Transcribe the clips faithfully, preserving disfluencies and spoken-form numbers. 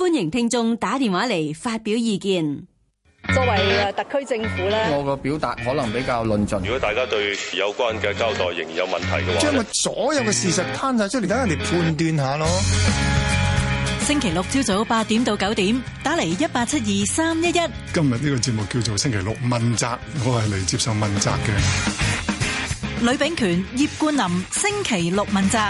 歡迎聽眾打電話嚟發表意見。 作為特區政府咧， 我個表達可能比較論盡。 如果大家對有關嘅交代仍然有問題嘅話， 將個所有嘅事實攤晒出嚟，等人哋判斷下咯。 星期六朝早八點到九點，打嚟一八七二三一一。 今日呢個節目叫做星期六問責，我係嚟接受問責嘅。 呂秉權、葉冠霖，星期六問責。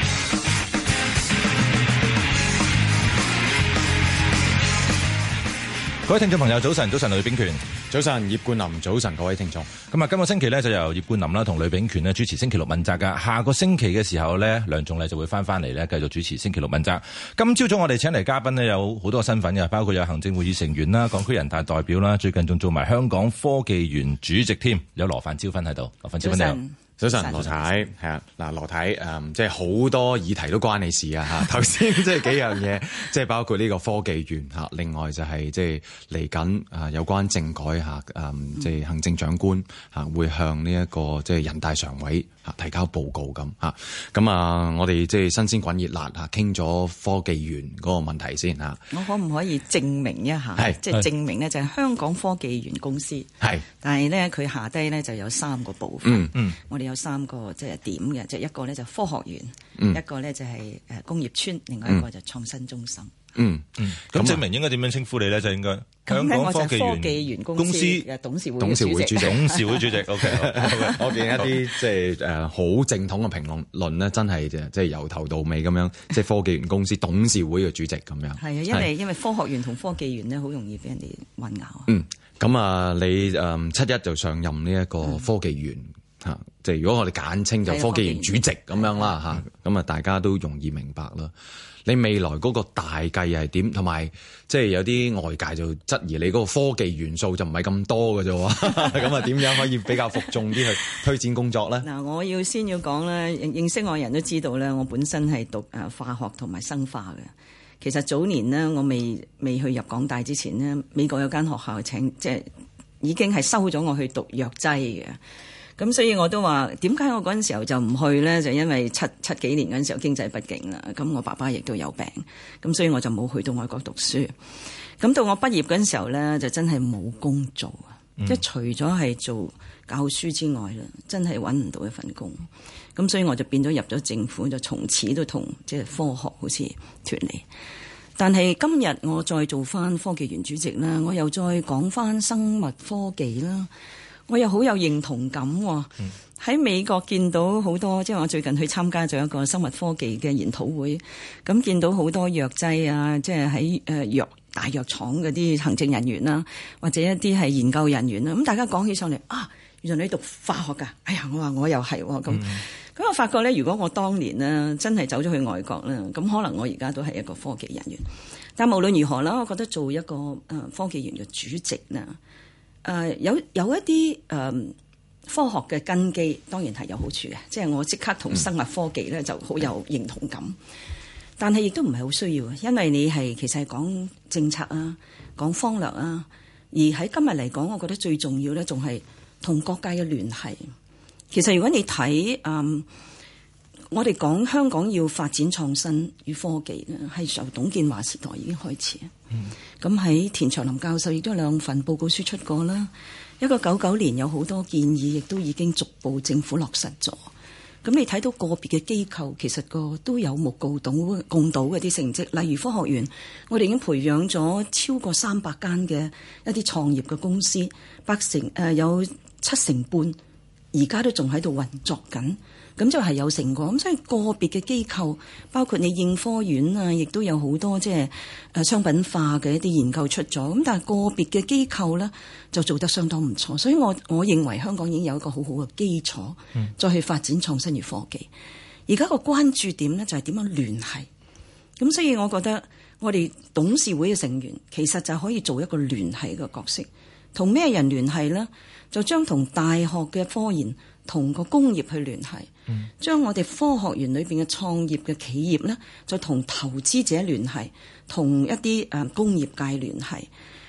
各位聽眾朋友，早晨，早晨，呂秉權， 早晨，葉冠霖，早晨，各位聽眾。 咁啊，今個星期咧就由葉冠霖啦同呂秉權咧主持星期六問責噶。下個星期嘅時候咧，梁頌麗就會翻翻嚟咧繼續主持星期六問責。今朝早我哋請嚟嘉賓咧有好多身份嘅，包括有行政會議成員啦、港區人大代表啦，最近仲做埋香港科技園主席添。有羅范椒芬喺度，羅范椒芬你好。 早晨，羅太係啊，嗱，羅太誒，即係好多議題都關你事啊嚇。頭先即係幾樣嘢，即係包括呢個科技園嚇，另外就係即係嚟緊啊有關政改嚇，誒即係行政長官嚇會向呢一個即係人大常委嚇提交報告咁嚇。咁啊，我哋即係新鮮滾熱辣嚇，傾咗科技園嗰個問題先嚇。 我可唔可以證明一下？係即係證明呢，就係香港科技園公司係，但係咧佢下低咧就有三個部分。嗯嗯，我哋有三個即係點嘅，即係一個咧就科學園，嗯、一個咧就係誒工業村，另外一個就創新中心。 嗯嗯，咁證明應該點樣稱呼你咧？就應該香港科技園公司嘅董事會董事會主席， 董事會主席。O K， 我見一啲即係誒好正統嘅評論論咧，真係即係由頭到尾咁樣，即係科技園公司董事會嘅主席咁樣。係啊， 因為因為科學園同科技園咧，好容易俾人哋混淆。 嗯，咁啊，你誒七一就上任呢一個科技園。嗯嚇，即係如果我哋簡稱就科技園主席咁樣啦嚇，咁啊大家都容易明白啦。你未來嗰個大計係點？同埋即係有啲外界就質疑你嗰個科技元素就唔係咁多嘅啫喎，咁啊點樣可以比較服眾啲去推展工作咧？ 嗱，我要先要講咧，認識我人都知道咧，我本身係讀誒化學同埋生化嘅。其實早年呢，我未未去入港大之前呢，美國有間學校請即係已經係收咗我去讀藥劑嘅。咁所以我都話點解我嗰陣時候就唔去咧？就因為七七幾年嗰陣時候經濟不景啦，咁我爸爸亦都有病，咁所以我就冇去到外國讀書。咁到我畢業嗰陣時候咧，就真係冇工做啊！即係、嗯、除咗係做教書之外啦，真係揾唔到一份工。咁所以我就變咗入咗政府，就從此都同即係科學好似脫離。但係今日我再做翻科技園主席啦，我又再講翻生物科技啦。我又好有認同感喎，喺美國見到好多，即係我最近去參加咗一個生物科技嘅研討會，咁見到好多藥劑啊，即係喺誒藥大藥廠嗰啲行政人員啦，或者一啲係研究人員啦，咁大家講起上嚟啊，原來你讀化學㗎，哎呀，我話我又係喎，咁咁、嗯、我發覺咧，如果我當年呢真係走咗去外國咧，咁可能我而家都係一個科技人員，但無論如何啦，我覺得做一個誒科技園嘅主席啦。誒、uh, 有有一啲誒、嗯、科學嘅根基，當然係有好處嘅，即係我即刻同生物科技咧就好有認同感。但係亦都唔係好需要，因為你係其實係講政策啊，講方略啊。而喺今日嚟講，我覺得最重要咧，仲係同各界嘅聯繫。其實如果你睇誒、嗯，我哋講香港要發展創新與科技咧，係由董建華時代已經開始。咁喺、嗯、田長林教授亦都有兩份報告書出過啦。一個九九年有好多建議，亦都已經逐步政府落實咗。咁你睇到個別嘅機構，其實個都有目共睹共睹嘅啲成績。例如科學園，我哋已經培養咗超過三百間嘅一啲創業嘅公司，八成誒、呃、有七成半而家都仲喺度運作緊。咁就係有成果，咁所以個別嘅機構，包括你應科院啊，亦都有好多即係誒商品化嘅一啲研究出咗。咁但係個別嘅機構咧，就做得相當唔錯。所以我我認為香港已經有一個好好嘅基礎，再去發展創新與科技。而家個關注點咧就係點樣聯繫。咁所以我覺得我哋董事會嘅成員其實就可以做一個聯繫嘅角色。同咩人聯繫咧？就將同大學嘅科研同個工業去聯繫，嗯、將我哋科學園裏邊嘅創業嘅企業咧，就同投資者聯繫，同一啲誒工業界聯繫，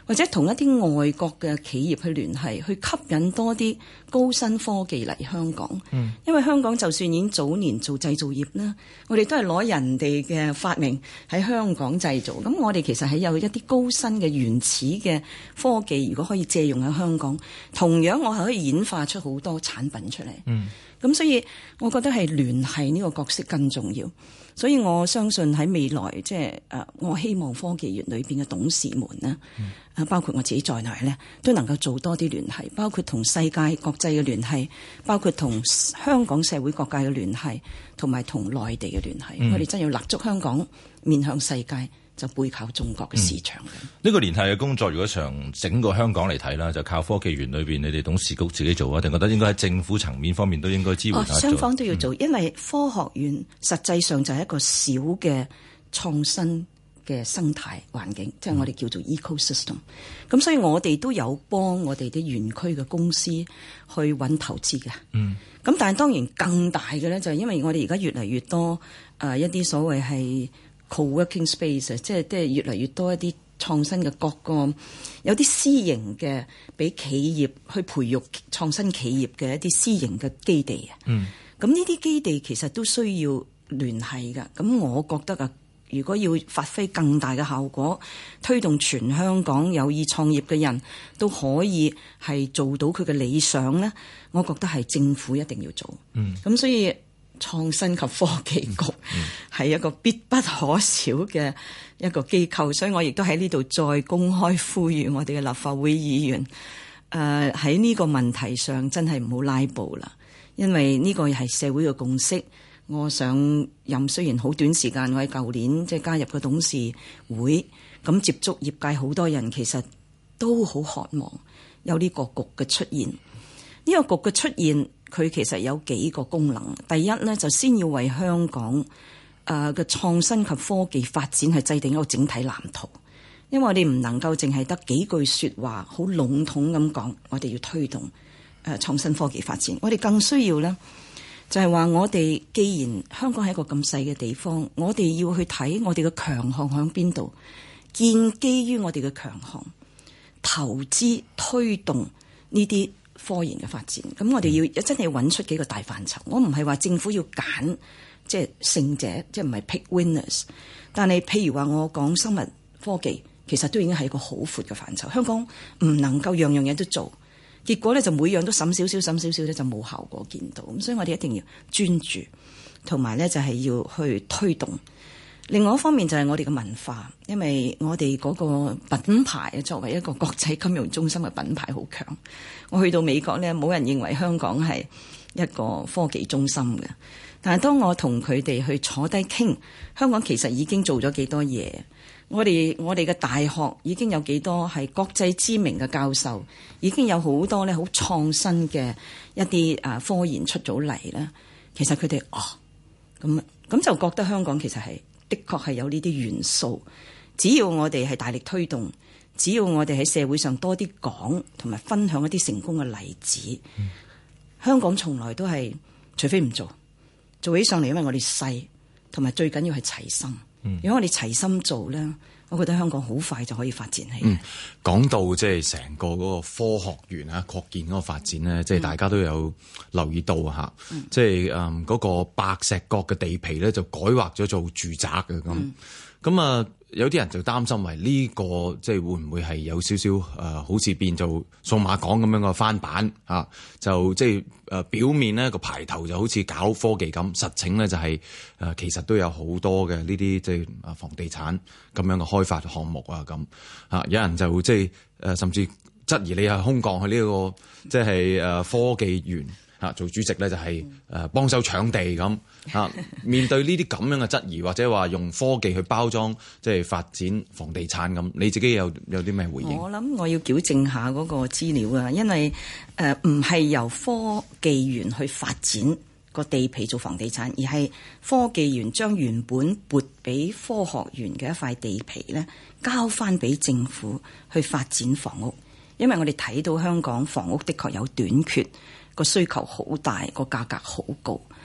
或者同一啲外國嘅企業去聯繫，去吸引多啲高新科技嚟香港。嗯，因為香港就算已經早年做製造業啦，我哋都係攞人哋嘅發明喺香港製造。咁我哋其實係有一啲高新嘅原始嘅科技，如果可以借用喺香港，同樣我係可以演化出好多產品出嚟。嗯，咁所以我覺得係聯繫呢個角色更重要。所以我相信喺未來，即係誒，我希望科技園裏邊嘅董事們呢，啊，包括我自己在內咧，都能夠做多啲聯繫，包括同世界國際嘅聯繫，包括同香港社會各界嘅聯繫，同埋同內地嘅聯繫。嗯、我哋真要立足香港，面向世界，就背靠中國嘅市場。呢、 嗯這個聯繫嘅工作，如果從整個香港嚟睇啦，就靠科技園裏邊你哋董事局自己做啊，定覺得應該喺政府層面方面都應該支援下、哦、 雙方都要做，嗯、因為科學園實際上就係一個小嘅創新嘅生態環境，即係、嗯、我哋叫做 ecosystem。咁所以我哋都有幫我哋啲園區嘅公司去揾投資嘅。嗯。咁但係當然更大嘅咧，就係因為我哋而家越嚟越多誒、呃、一啲所謂係co-working space， 即係即係越嚟越多一啲創新嘅各個有啲私營嘅俾企業去培育創新企業嘅一啲私營嘅基地啊。嗯，咁呢啲基地其實都需要聯繫㗎。咁我覺得啊，如果要發揮更大嘅效果，推動全香港有意創業嘅人都可以係做到佢嘅理想咧，我覺得係政府一定要做。嗯，咁所以創新及科技局係一個必不可少嘅一個機構，所以我亦都喺呢度再公開呼籲我哋嘅立法會議員，誒喺呢個問題上真係唔好拉布啦，因為呢個係社會嘅共識。我上任雖然好短時間，我喺舊年即係加入個董事會，咁接觸業界好多人，其實都好渴望有呢個局嘅出現。呢個局嘅出現，佢其實有幾個功能。第一呢，就先要為香港誒嘅創新及科技發展係制定一個整體藍圖，因為我哋唔能夠淨係得幾句說話，好籠統咁講，我哋要推動誒創新科技發展。我哋更需要呢，就係話我哋既然香港係一個咁細嘅地方，我哋要去睇我哋嘅強項喺邊度，建基於我哋嘅強項，投資推動呢啲科研嘅發展。咁我哋要真係揾出幾個大範疇。我唔係話政府要揀即係勝者，即係唔係 pick winners。但係譬如話我講生物科技，其實都已經係一個好闊嘅範疇。香港唔能夠樣樣嘢都做。結果咧就每樣都審少少審少少咧就冇效果見到，咁所以我哋一定要專注，同埋咧就係要去推動。另外一方面就係我哋嘅文化，因為我哋嗰個品牌作為一個國際金融中心嘅品牌好強。我去到美國咧，冇人認為香港係一個科技中心嘅，但係當我同佢哋去坐低傾，香港其實已經做咗幾多嘢。我哋我哋嘅大學已經有幾多係國際知名嘅教授，已經有好多咧好創新嘅一啲啊科研出咗嚟咧。其實佢哋哦咁咁就覺得香港其實係的確係有呢啲元素。只要我哋係大力推動，只要我哋喺社會上多啲講同埋分享一啲成功嘅例子，嗯、香港從來都係除非唔做，做起上嚟，因為我哋細，同埋最緊要係齊心。如果我哋齊心做咧，我覺得香港好快就可以發展起。嗯， 講到即係成個嗰個科學園啊，擴建嗰個發展咧，即係、嗯、大家都有留意到嚇，即係誒嗰個白石角嘅地皮咧就改劃咗做住宅嘅咁，咁啊、嗯。有啲人就擔心為呢個即係會唔會係有少少誒、呃，好似變做數碼港咁樣嘅翻版啊？就即係誒表面呢個牌頭就好似搞科技咁，實情咧就係、是、誒、呃、其實都有好多嘅呢啲即係誒房地產咁樣嘅開發項目啊咁啊。有人就即係誒甚至質疑你係空降去呢、這個即係誒科技園啊做主席咧，就係誒幫手搶地咁。啊！面對呢啲咁樣嘅質疑，或者話用科技去包裝，即係發展房地產咁，你自己有有啲咩回應？我諗我要矯正下嗰個資料啊，因為誒唔係由科技園去發展個地皮做房地產，而係科技園將原本撥俾科學園嘅一塊地皮咧，交翻俾政府去發展房屋。因為我哋睇到香港房屋的確有短缺，個需求好大，個價格好高。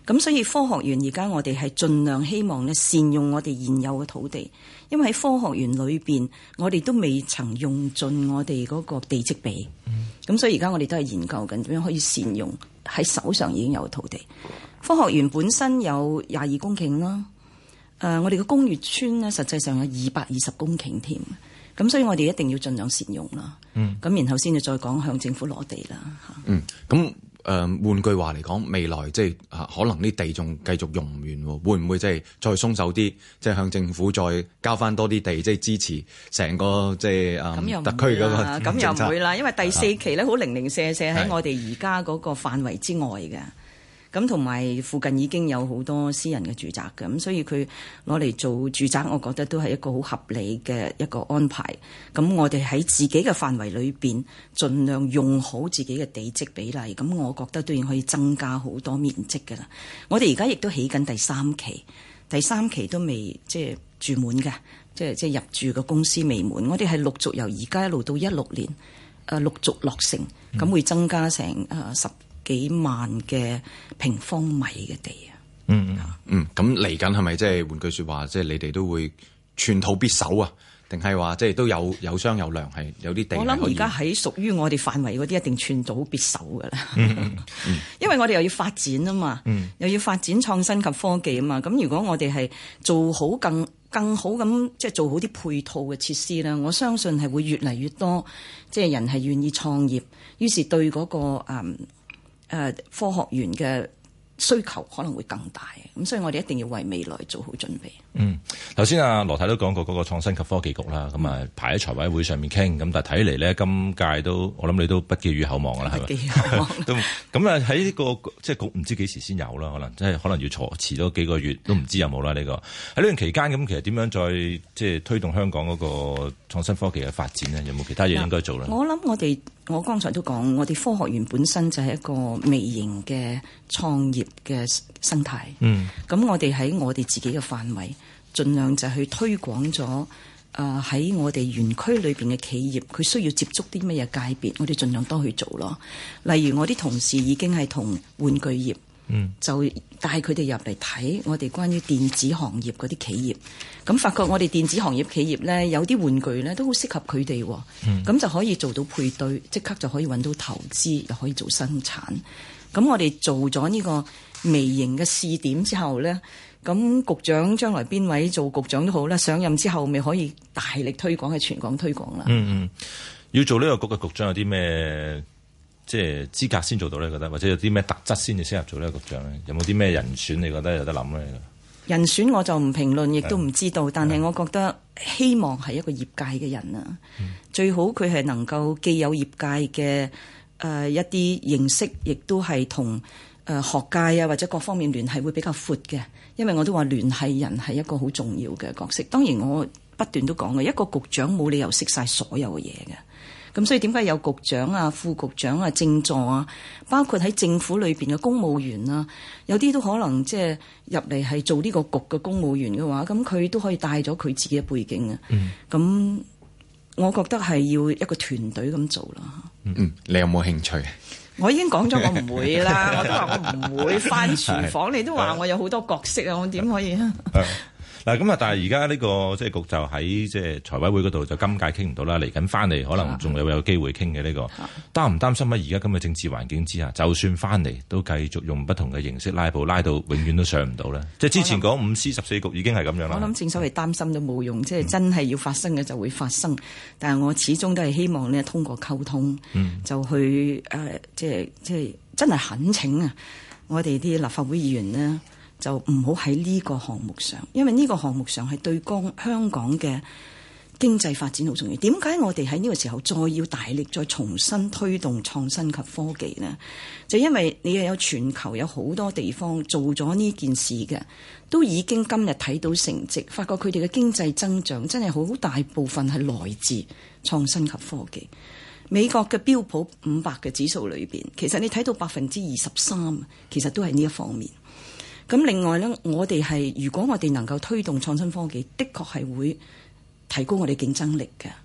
咁所以科學園而家我哋係盡量希望咧善用我哋現有嘅土地，因為喺科學園裏邊，我哋都未曾用盡我哋嗰個地積比。咁、嗯、所以而家我哋都係研究緊點樣可以善用喺手上已經有嘅土地。科學園本身有廿二公頃啦，誒、呃，我哋嘅工業村咧實際上有二百二十公頃添。咁所以我哋一定要盡量善用啦。嗯，咁然後先至再講向政府攞地啦。 嗯，咁。誒、呃、換句話嚟講，未來即係啊，可能啲地仲繼續用唔完喎，會唔會即係再鬆手啲，即係向政府再交翻多啲地，即係支持成個即係啊、嗯、特區嗰個政策？ 咁又唔會啦，因為第四期咧好零零舍舍喺我哋而家嗰個範圍之外嘅。咁同埋附近已經有好多私人嘅住宅嘅，咁所以佢攞嚟做住宅，我覺得都係一個好合理嘅一個安排。咁我哋喺自己嘅範圍裏邊，盡量用好自己嘅地積比例，咁我覺得都已經可以增加好多面積㗎啦。我哋而家亦都起緊第三期，第三期都未即係住滿嘅，即係即係入住嘅公司未滿。我哋係陸續由而家一路到一六年，誒陸續落成，咁會增加成誒十幾萬嘅平方米嘅地啊！ 嗯嗯，咁嚟緊係咪即係換句説話，即係你哋都會寸土必守啊？定係話即係都有有商有量，係有啲地？我諗而家喺屬於我哋範圍嗰啲，一定寸土必守㗎啦。嗯嗯、因為我哋又要發展啊嘛，嗯、又要發展創新及科技啊嘛。咁如果我哋係做好更更好咁，即係做好啲配套嘅設施啦，我相信係會越嚟越多，即係人係願意創業，於是對嗰、嗰個誒。嗯誒、呃、科學園嘅需求可能會更大，咁所以我哋一定要為未來做好準備。嗯， 頭先阿羅太都講過嗰個創新及科技局啦，咁啊排喺財委會上面傾，咁但係睇嚟咧，今屆都我諗你都不寄予厚望㗎啦，係咪？不寄予厚望。都咁啊喺呢個即係局唔知幾時先有啦，可能即係可能要遲遲咗幾個月都唔知有冇啦呢個。喺呢段期間咁，其實點樣再即係推動香港嗰個創新科技嘅發展呢？有冇其他嘢應該做咧？ 我諗我哋我剛才都講，我哋科學園本身就係一個微型嘅創業嘅生態。嗯，咁我哋喺我哋自己嘅範圍，盡量就去推廣咗誒喺我哋園區裏邊嘅企業，佢需要接觸啲乜嘢界別，我哋盡量多去做咯。例如我啲同事已經係同玩具業，嗯，就帶佢哋入嚟睇我哋關於電子行業嗰啲企業，咁發覺我哋電子行業企業咧有啲玩具咧都好適合佢哋，咁、嗯、就可以做到配對，即刻就可以揾到投資，又可以做生產。咁我哋做咗呢個微型嘅試點之後咧，咁局長將來邊位做局長都好啦，上任之後咪可以大力推廣，喺全港推廣啦。嗯嗯， 要做呢個局嘅局長有啲咩即係資格先做到咧？覺得或者有啲咩特質先至適合做呢個局長咧？有冇啲咩人選你覺得有得諗咧？ 人選我就唔評論，亦都唔知道。但係我覺得希望係一個業界嘅人啊，嗯、最好佢係能夠既有業界嘅誒、呃、一啲認識，亦都係同誒學界啊或者各方面聯繫會比較闊嘅。因為我都話聯繫人係一個好重要嘅角色。當然我不斷都講嘅，一個局長冇理由識晒所有嘅嘢嘅。咁所以點解有局長啊、副局長啊、政助啊，包括喺政府裏邊嘅公務員啊，有啲都可能即係入嚟係做呢個局嘅公務員嘅話，咁佢都可以帶咗佢自己嘅背景啊。咁、嗯、我覺得係要一個團隊咁做啦。 嗯，你有冇興趣？ 我已經講咗我唔會啦，我都話我唔會返廚房。你都話我有好多角色啊，我點可以啊？ 嗱咁啊！但係而家呢個即係局就喺即係財委會嗰度就今屆傾唔到啦，嚟緊翻嚟可能仲有有機會傾嘅呢個。擔唔擔心喺而家咁嘅政治環境之下，就算翻嚟都繼續用不同嘅形式拉布，拉到永遠都上唔到咧？即係之前講五司十四局已經係咁樣啦。 我諗正所謂擔心都冇用，即係真係要發生嘅就會發生。嗯、但係我始終都係希望咧通過溝通，嗯、就去誒、呃、即係即係真係懇請啊！我哋啲立法會議員呢，就唔好喺呢個項目上，因為呢個項目上係對港香港嘅經濟發展好重要。點解我哋喺呢個時候再要大力再重新推動創新及科技呢？就因為你又有全球有好多地方做咗呢件事嘅，都已經今日睇到成績，發覺佢哋嘅經濟增長真係好大部分係來自創新及科技。美國嘅標普五百嘅指數裏邊，其實你睇到百分之二十三，其實都係呢一方面。咁另外呢，我哋係如果我哋能夠推動創新科技，的確係會提高我哋競爭力嘅。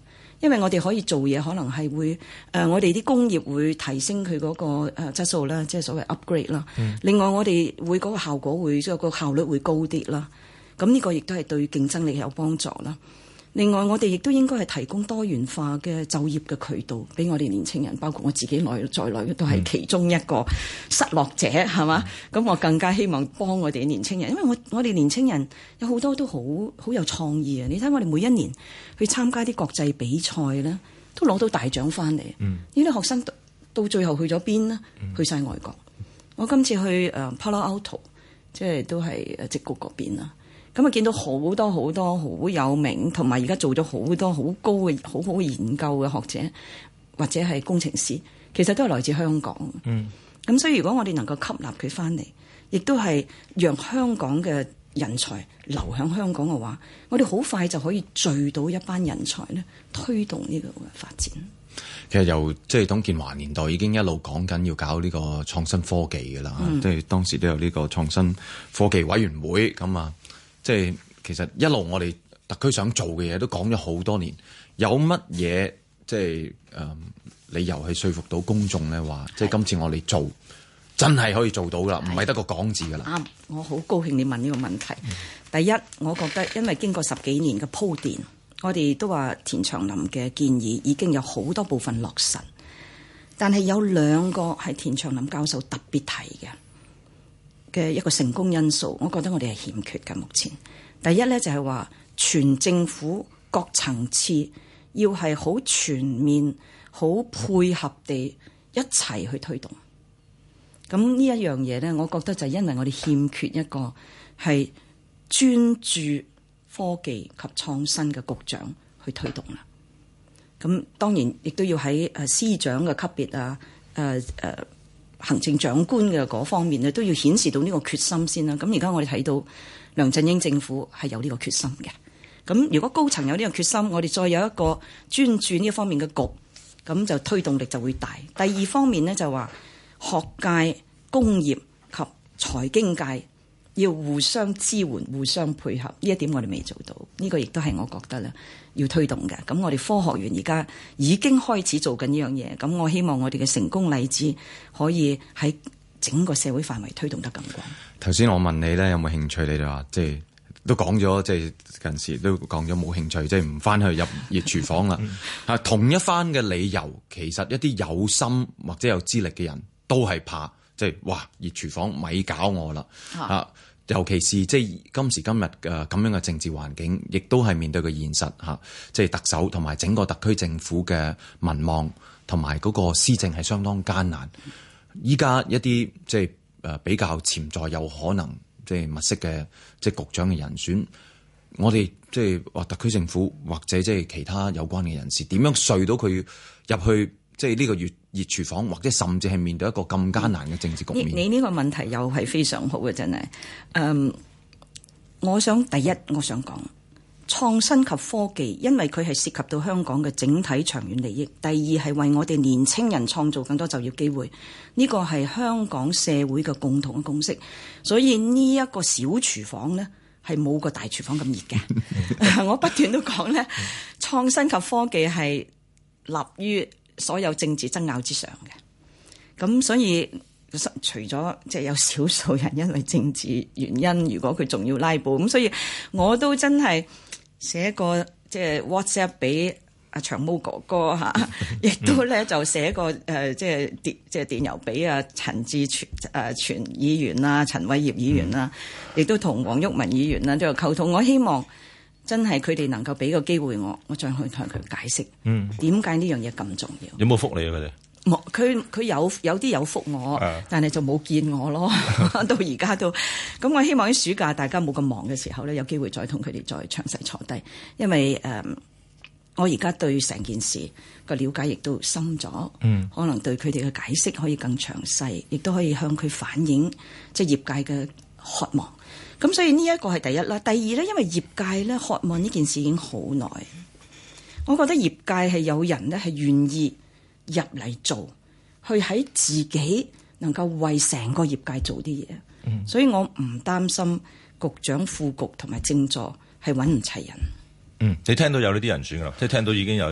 因為我哋可以做嘢，可能係會誒、呃，我哋啲工業會提升佢嗰個誒質素啦，即係所謂 upgrade 啦。嗯、另外，我哋會嗰個效果會即係個效率會高啲啦。咁呢個亦都係對競爭力有幫助啦。另外，我哋亦都應該係提供多元化嘅就業嘅渠道俾我哋年青人，包括我自己內在內都係其中一個失落者，係嘛？咁、嗯、我更加希望幫我哋年青人，因為我我哋年青人有好多都好好有創意啊！你睇我哋每一年去參加啲國際比賽咧，都攞到大獎翻嚟。呢啲、嗯、學生到最後去咗邊呢？嗯、去晒外國。我今次去誒 Palo Alto， 即係都係誒矽谷嗰邊啦。咁啊，見到好多好多好有名，同埋而家做咗好多好高嘅好好研究嘅學者或者係工程師，其實都係來自香港。嗯，咁所以如果我哋能夠吸納佢翻嚟，亦都係讓香港嘅人才流向香港嘅話，我哋好快就可以聚到一班人才咧，推動呢個嘅發展。 其實由即係董建華年代已經一路講緊要搞呢個創新科技㗎啦，即係、嗯、當時都有呢個創新科技委員會咁啊。即係其實一路我哋特區想做嘅嘢都講咗好多年，有乜嘢即係誒理由去說服到公眾咧？話即係今次我哋做真係可以做到噶啦，唔係得個講字噶啦。啱， 我好高興你問呢個問題。嗯、第一，我覺得因為經過十幾年嘅鋪墊，我哋都話田長林嘅建議已經有好多部分落實，但係有兩個係田長林教授特別提嘅嘅一個成功因素，我覺得我哋係欠缺嘅。目前第一咧就係話全政府各層次要係好全面、好配合地一齊去推動。咁呢一樣嘢咧，我覺得就係因為我哋欠缺一個係專注科技及創新嘅局長去推動啦。咁當然亦都要喺誒司長嘅級別啊，誒誒。呃行政長官嘅嗰方面咧，都要顯示到呢個決心先啦。咁而家我哋睇到梁振英政府係有呢個決心嘅。咁如果高層有呢個決心，我哋再有一個專注呢一方面嘅局，咁就推動力就會大。第二方面呢，就話學界、工業及財經界要互相支援、互相配合，呢一點我哋未做到。呢個亦都係我覺得咧要推動嘅。咁我哋科學園而家已經開始做緊呢樣嘢。咁我希望我哋嘅成功例子可以喺整個社會範圍推動得更廣。 頭先我問你咧有冇興趣，你就話即係都講咗，即係近時都講咗冇興趣，即係唔翻去入熱廚房啦。啊，同一番嘅理由，其實一啲有心或者有資歷嘅人都係怕。即係哇！熱廚房咪搞我啦啊！啊尤其是即係今時今日嘅咁樣嘅政治環境，亦都係面對嘅現實嚇。即係特首同埋整個特區政府嘅民望同埋嗰個施政係相當艱難。依家一啲即係誒比較潛在有可能即係物色嘅即係局長嘅人選，我哋即係話特區政府或者即係其他有關嘅人士點樣說到佢入去？即係呢個熱熱廚房，或者甚至係面對一個咁艱難嘅政治局面。 你呢個問題又係非常好嘅，真係。嗯，我想第一，我想講創新及科技，因為佢係涉及到香港嘅整體長遠利益。第二係為我哋年青人創造更多就業機會，呢個係香港社會嘅共同嘅共識。所以呢一個小廚房呢，係冇個大廚房咁熱嘅。我不斷都講呢，創新及科技係立於所有政治爭拗之上嘅，咁所以除咗即係有少數人因為政治原因，如果佢仲要拉布，咁所以我都真係寫個即係 WhatsApp 俾阿長毛哥哥嚇，亦都咧就寫個誒即係電即係電郵俾阿陳志全誒全議員啦、陳偉業議員啦，亦都同黃毓民議員啦都有溝通。我希望真係佢哋能夠俾個機會我，我再去同佢解釋，嗯，點解呢樣嘢咁重要？ 有冇覆你啊？佢哋冇，佢佢有有啲有覆我，啊、但係就冇見我咯。到而家都咁，我希望喺暑假大家冇咁忙嘅時候咧，有機會再同佢哋再詳細坐低，因為誒、呃，我而家對成件事個了解亦都深咗，嗯，可能對佢哋嘅解釋可以更詳細，亦都可以向佢反映即係業界嘅渴望。咁所以呢一個係第一啦，第二咧，因為業界咧渴望呢件事已經好耐，我覺得業界係有人咧係願意入嚟做，去喺自己能夠為成個業界做啲嘢，嗯、所以我唔擔心局長、副局同埋政助係揾唔齊人。 嗯，你聽到有呢啲人選㗎啦，即係聽到已經有人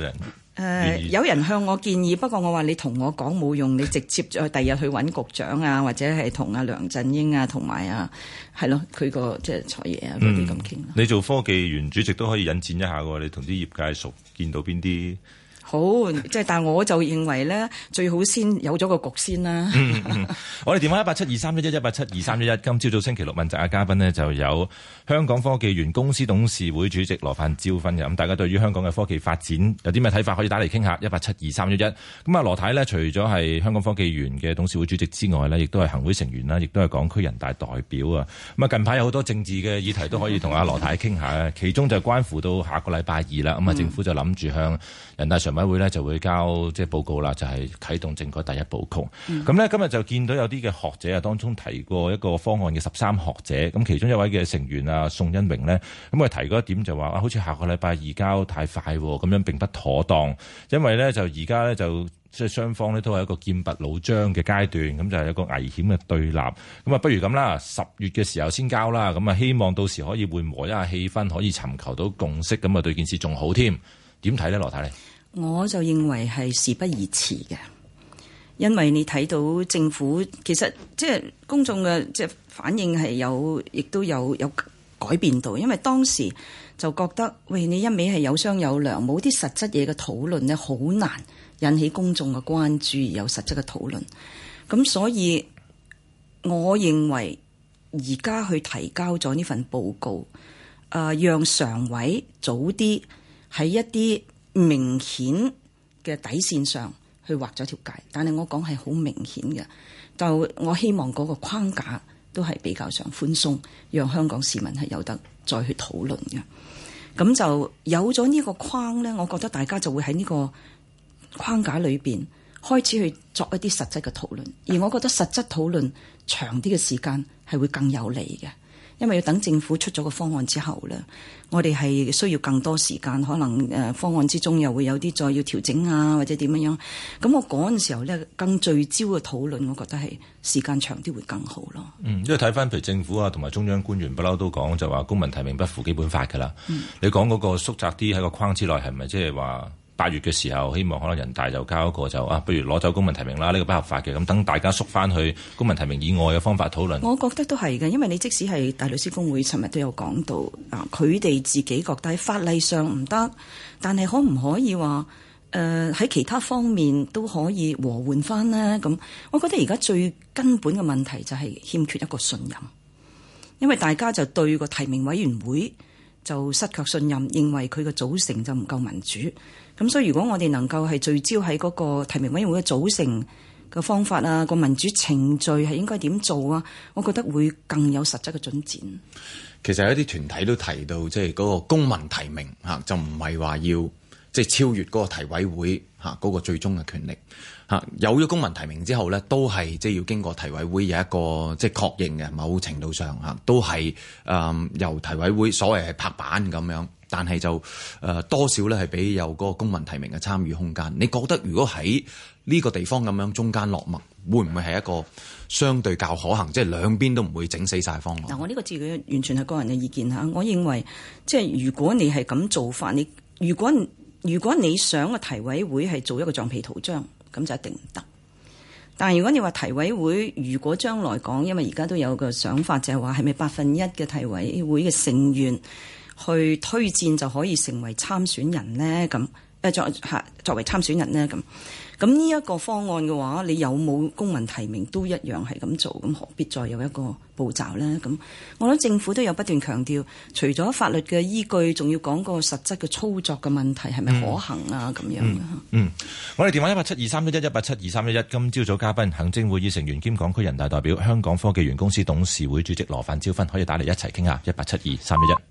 誒、呃、有人向我建議，不過我話你同我講冇用，你直接再第日去揾局長啊，或者係同阿梁振英啊，同埋啊係咯，佢個即係財爺啊嗰啲咁傾。 你做科技園主席都可以引薦一下喎，你同啲業界熟，見到邊啲？ 好，即係但係我就認為咧，最好先有咗個局先啦。 嗯嗯、我哋電話一八七二三一一一八七二三一一，今朝早星期六問責嘅嘉賓呢，就有香港科技園公司董事會主席羅范椒芬嘅。咁大家對於香港嘅科技發展有啲咩睇法，可以打嚟傾下一八七二三一一。咁啊，羅太呢，除咗係香港科技園嘅董事會主席之外呢，亦都係行會成員啦，亦都係港區人大代表啊。咁啊，近排有好多政治嘅議題都可以同阿羅太傾下，其中就關乎到下個禮拜二啦。咁啊，政府就諗住向人大常委會呢就會交即係報告啦，就係、是、啟動政改第一步曲。咁呢、嗯，今日就見到有啲嘅學者啊，當中提過一個方案嘅十三學者。咁其中一位嘅成員啊，宋恩榮呢，咁佢提過一點就話啊，好似下個禮拜移交太快，咁樣並不妥當。因為呢，就而家呢，就即係雙方呢都係一個劍拔弩張嘅階段，咁就係一個危險嘅對立。咁啊，不如咁啦，十月嘅時候先交啦。咁啊，希望到時可以緩和一下氣氛，可以尋求到共識，咁啊對件事仲好添。點睇呢？羅太？ 我就認為係事不宜遲嘅，因為你睇到政府其實即係公眾嘅即係反應係有，亦都有有改變到。因為當時就覺得喂，你一味係有商有量，冇啲實質嘢嘅討論呢，好難引起公眾嘅關注，而有實質嘅討論。咁所以我認為而家去提交咗呢份報告，誒、呃，讓常委早啲喺一啲明顯嘅底線上去畫咗條界，但係我講係好明顯嘅，就我希望嗰個框架都係比較上寬鬆，讓香港市民係有得再去討論嘅。咁就有咗呢個框呢，我覺得大家就會喺呢個框架裏邊開始去作一啲實質嘅討論，而我覺得實質討論長啲嘅時間係會更有利嘅。因為要等政府出咗個方案之後咧，我哋係需要更多時間，可能誒方案之中又會有啲再要調整啊，或者點樣樣。咁我嗰陣時候咧，更聚焦嘅討論，我覺得係時間長啲會更好咯。嗯， 因為睇翻譬如政府啊，同埋中央官員不嬲都講就話公民提名不符基本法㗎啦。嗯，你講嗰個縮窄啲喺個框之內，係咪即係話八月嘅時候希望可能人大就交一個就啊，不如攞走公民提名啦，呢、這個不合法嘅，咁等大家縮翻去公民提名以外嘅方法討論。 我覺得都係嘅，因為你即使係大律師公會尋日都有講到啊，佢哋自己覺得喺法例上唔得，但係可唔可以話誒喺其他方面都可以和緩翻呢？咁我覺得而家最根本嘅問題就係欠缺一個信任，因為大家就對個提名委員會就失卻信任，認為佢嘅組成就唔夠民主。咁所以如果我哋能夠係聚焦喺嗰個提名委員會嘅組成嘅方法啊，個民主程序係應該點做啊，我覺得會更有實質嘅進展。 其實有一啲團體都提到，即係嗰個公民提名嚇，就唔係話要即係超越嗰個提委會嚇嗰個最終嘅權力嚇。有咗公民提名之後咧，都係即係要經過提委會有一個即係確認嘅，某程度上嚇都係誒、呃、由提委會所謂係拍板咁樣。但係就誒、呃、多少咧係俾有嗰個公民提名嘅參與空間。你覺得如果喺呢個地方咁樣中間落墨，會唔會係一個相對較可行？即係兩邊都唔會整死晒方案。嗱，我呢個自己完全係個人嘅意見嚇。我認為即係如果你係咁做法，你如果如果你想個提委會係做一個橡皮圖章，咁就一定唔得。但係如果你話提委會，如果將來講，因為而家都有個想法，就係話係咪百分一嘅提委會嘅成員去推薦就可以成為參選人呢？咁誒作嚇作為參選人呢？咁咁呢一個方案嘅話，你有冇公民提名都一樣係咁做，咁何必再有一個步驟呢？咁我諗政府都有不斷強調，除咗法律嘅依據，仲要講個實質嘅操作嘅問題係咪可行啊？咁、嗯、樣嗯，嗯，我哋電話一八七二三一一一八七二三一一，今朝早嘉賓行政會議成員兼港區人大代表、香港科技園公司董事會主席羅范椒芬，可以打嚟一齊傾下一八七二三一一。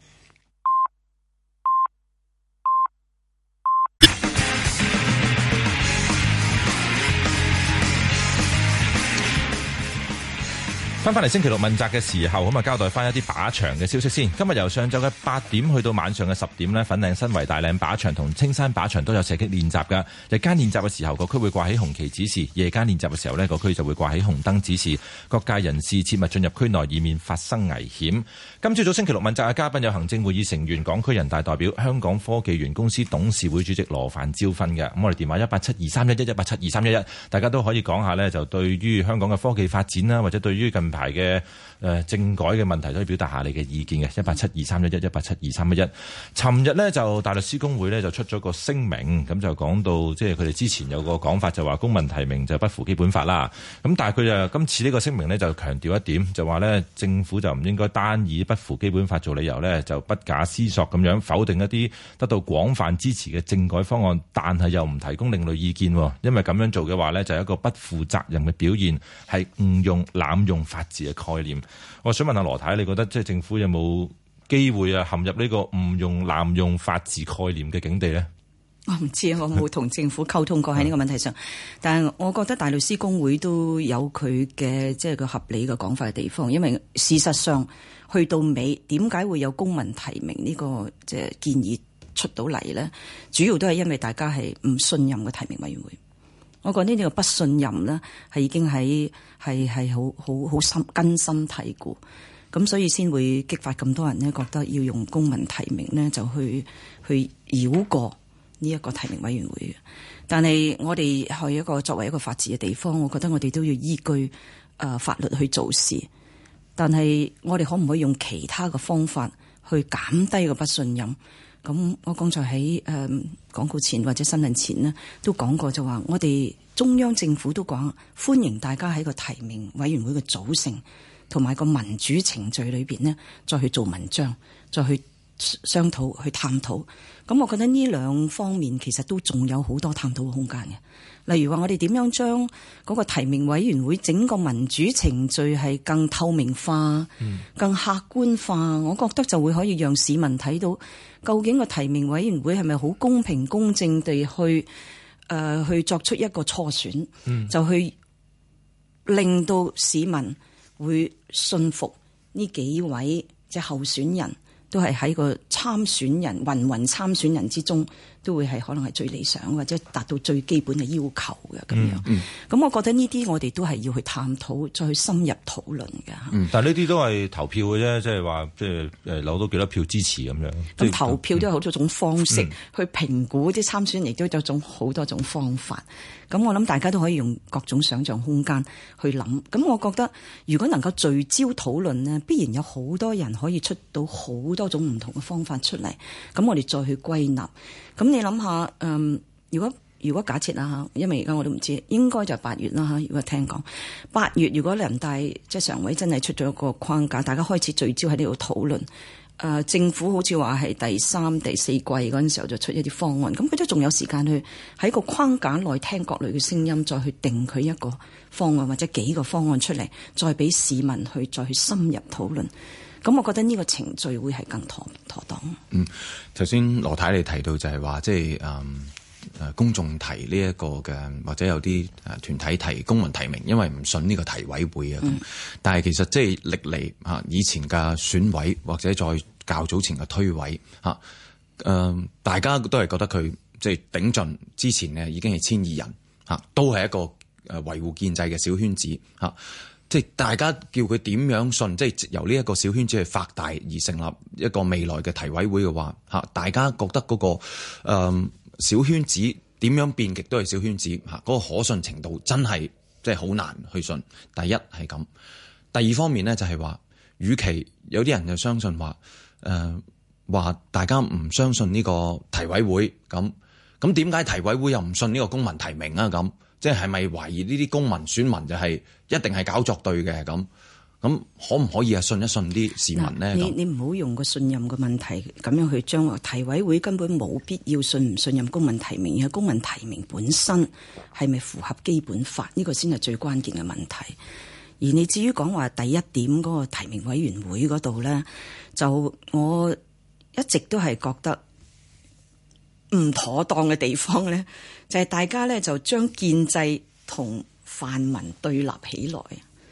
翻返嚟星期六問責嘅時候，咁啊交代翻一啲靶場嘅消息先。今日由上晝嘅八點去到晚上嘅十點呢，粉嶺新圍大嶺靶場同青山靶場都有射擊練習㗎。日間練習嘅時候，個區會掛起紅旗指示；夜間練習嘅時候呢，個區就會掛起紅燈指示，各界人士切勿進入區內，以免發生危險。今朝早星期六問責嘅嘉賓有行政會議成員、港區人大代表、香港科技園公司董事會主席羅范椒芬嘅。咁我哋電話一八七二三一一一八七二三一一，大家都可以講下呢，就對於香港嘅科技發展啦，或者對於近排嘅誒政改嘅問題，都可以表達下你嘅意見嘅。一八七二三一一一八七二三一一。尋日呢，就大律師公會呢就出咗個聲明，咁就講到即係佢哋之前有個講法，就話公民提名就不符基本法啦。咁但係佢就今次呢個聲明呢，就強調一點，就話呢政府就唔應該單以不符基本法做理由呢，就不假思索咁樣否定一啲得到廣泛支持嘅政改方案，但係又唔提供另類意見，因為咁樣做嘅話呢，就係一個不負責任嘅表現，係誤用濫用法治嘅概念。我想問下羅太，你覺得即係政府有冇機會啊陷入呢個誤用濫用法治概念嘅境地呢？ 我唔知啊，我冇同政府溝通過喺呢個問題上，但係我覺得大律師公會都有佢嘅即係個合理嘅講法嘅地方，因為事實上去到尾點解會有公民提名呢個即係建議出到嚟呢？主要都係因為大家係唔信任嘅提名委員會。我覺得呢個不信任呢，係已經喺係係好好好深根深蒂固，咁所以先會激發咁多人呢覺得要用公民提名呢，就去去繞過呢一個提名委員會。但係我哋係一個作為一個法治嘅地方，我覺得我哋都要依據誒、呃、法律去做事。但係我哋可唔可以用其他嘅方法去減低個不信任？咁我剛才喺誒廣告前或者新聞前呢都講過，就話我哋中央政府都講歡迎大家喺個提名委員會嘅組成同埋個民主程序裏邊呢再去做文章，再去商討、去探討。咁我覺得呢兩方面其實都仲有好多探討嘅空間嘅。例如話我哋點樣將嗰個提名委員會整個民主程序係更透明化、嗯、更客觀化，我覺得就會可以讓市民睇到究竟個提名委員會係咪好公平公正地去誒、呃、去作出一個初選、嗯，就去令到市民會信服呢幾位即係候選人。都係喺個參選人、芸芸參選人之中，都會係可能係最理想或者達到最基本嘅要求嘅咁樣。咁、嗯嗯、我覺得呢啲我哋都係要去探討，再去深入討論嘅、嗯。但係呢啲都係投票嘅啫，即係話即係誒攞到幾多票支持咁樣。咁投票都有好多種方式、嗯、去評估啲參選人，亦都有種好多種方法。咁我諗大家都可以用各種想像空間去諗。咁我覺得如果能夠聚焦討論呢，必然有好多人可以出到好多種唔同嘅方法出嚟。咁我哋再去歸納。咁你諗下，嗯，如果如果假設啦嚇，因為而家我都唔知，應該就係八月啦嚇。如果聽講八月，如果人大即係常委真係出咗一個框架，大家開始聚焦喺呢度討論。誒、呃、政府好似話係第三、第四季嗰陣時候就出一啲方案，咁佢都仲有時間去喺個框架內聽各類嘅聲音，再去定佢一個方案或者幾個方案出嚟，再俾市民去再去深入討論。咁我覺得呢個程序會係更妥妥當。 嗯，頭先羅太你提到就係話，即係誒誒公眾提呢一個嘅，或者有啲誒團體提公民提名，因為唔信呢個提委會啊。咁、嗯，但係其實即係歷嚟嚇以前嘅選委或者再較早前嘅推委嚇，誒、呃、大家都係覺得佢即係頂盡之前呢已經係千二人嚇，都係一個誒維護建制嘅小圈子嚇。即係大家叫佢點樣信，即係由呢一個小圈子去發大而成立一個未來嘅提委會嘅話嚇，大家覺得嗰、那個、呃、小圈子點樣變極都係小圈子嚇，嗰、那個可信程度真係即係好難去信。第一係咁，第二方面咧就係話，與其有啲人就相信話誒話大家唔相信呢個提委會咁，咁點解提委會又唔信呢個公民提名啊？咁即係係咪懷疑呢啲公民選民就係一定係搞作對嘅咁？咁可唔可以啊信一信啲市民呢？ 你你唔好用個信任嘅問題咁樣去將提委會根本冇必要信唔信任公民提名，而係公民提名本身係咪符合基本法？呢個先係最關鍵嘅問題。而你至於講話第一點嗰個提名委員會嗰度呢，就我一直都係覺得唔妥當嘅地方呢，就係大家呢就將建制同泛民對立起來。